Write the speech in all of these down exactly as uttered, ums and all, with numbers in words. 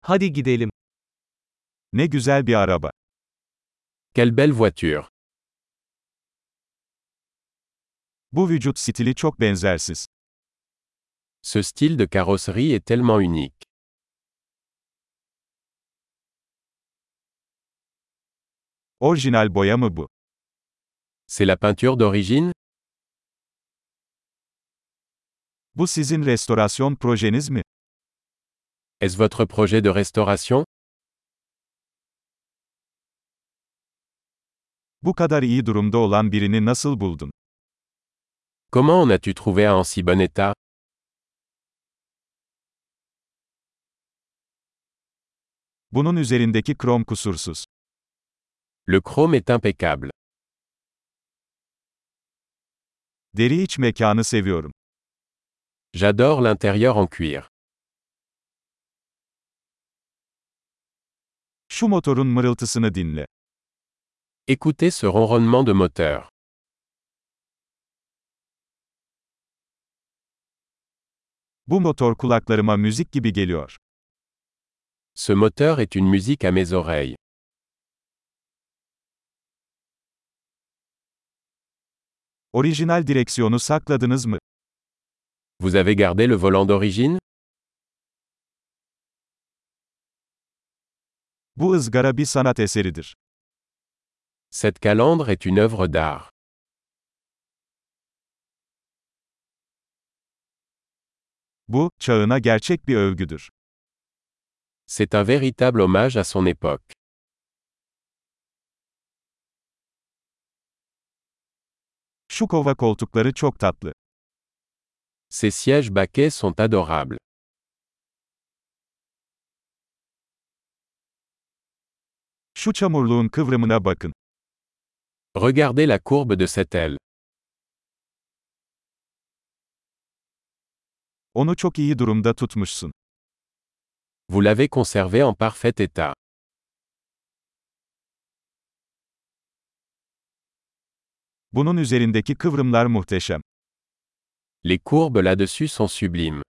Hadi gidelim. Ne güzel bir araba. Quelle belle voiture. Bu vücut stili çok benzersiz. Ce style de carrosserie est tellement unique. Orijinal boya mı bu? C'est la peinture d'origine? Bu sizin restorasyon projeniz mi? Est-ce votre projet de restauration? Bu kadar iyi durumda olan birini nasıl buldun? Comment en as-tu trouvé un en si bon état? Bunun üzerindeki krom kusursuz. Le chrome est impeccable. Deri iç mekanı seviyorum. J'adore l'intérieur en cuir. Şu motorun mırıltısını dinle. Écoutez ce ronronnement de moteur. Bu motor kulaklarıma müzik gibi geliyor. Ce moteur est une musique à mes oreilles. Orijinal direksiyonu sakladınız mı? Vous avez gardé le volant d'origine? Bu ızgara bir sanat eseridir. Cette calandre est une œuvre d'art. Bu, çağına gerçek bir övgüdür. C'est un véritable hommage à son époque. Şu kova koltukları çok tatlı. Ces sièges baquets sont adorables. Şu çamurluğun kıvrımına bakın. Regardez la courbe de cette aile. Onu çok iyi durumda tutmuşsun. Vous l'avez conservé en parfait état. Bunun üzerindeki kıvrımlar muhteşem. Les courbes là-dessus sont sublimes.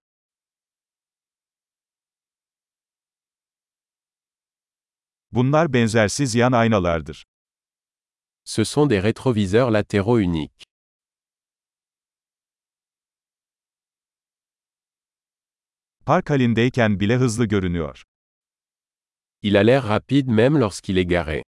Bunlar benzersiz yan aynalardır. Ce sont des rétroviseurs latéraux uniques. Park halindeyken bile hızlı görünüyor. Il a l'air rapide même lorsqu'il est garé.